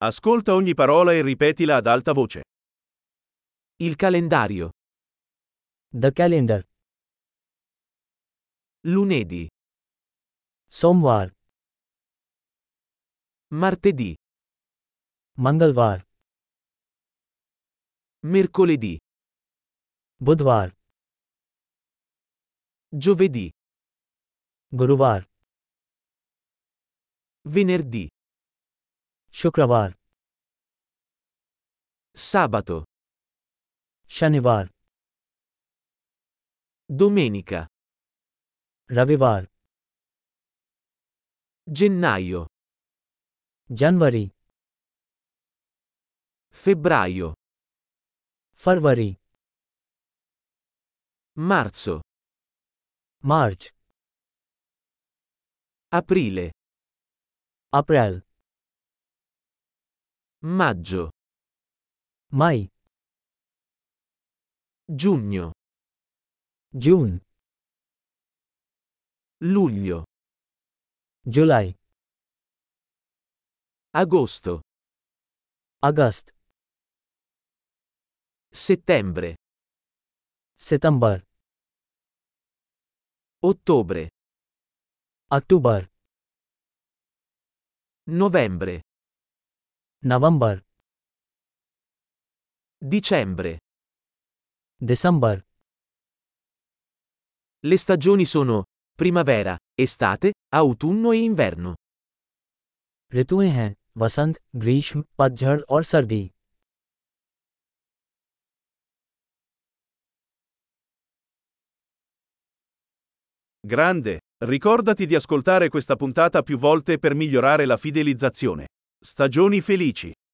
Ascolta ogni parola e ripetila ad alta voce. Il calendario. The calendar. Lunedì. सोमवार, Martedì. मंगलवार, Mercoledì. बुधवार, Giovedì. गुरुवार, Venerdì. शुक्रवार, Sabato. शनिवार, Domenica. रविवार, Gennaio. जनवरी, Febbraio. फरवरी, Marzo. मार्च, Aprile. अप्रैल, Maggio. मई, Giugno. जून, Luglio. जुलाई, Agosto. अगस्त, Settembre. सितंबर, Ottobre. अक्टूबर, Novembre. नवंबर, Dicembre. दिसंबर. Le stagioni sono primavera, estate, autunno e inverno. ऋतुएं हैं वसंत, ग्रीष्म, पतझड़ और सर्दी. Grande, ricordati di ascoltare questa puntata più volte per migliorare la fidelizzazione. Stagioni felici.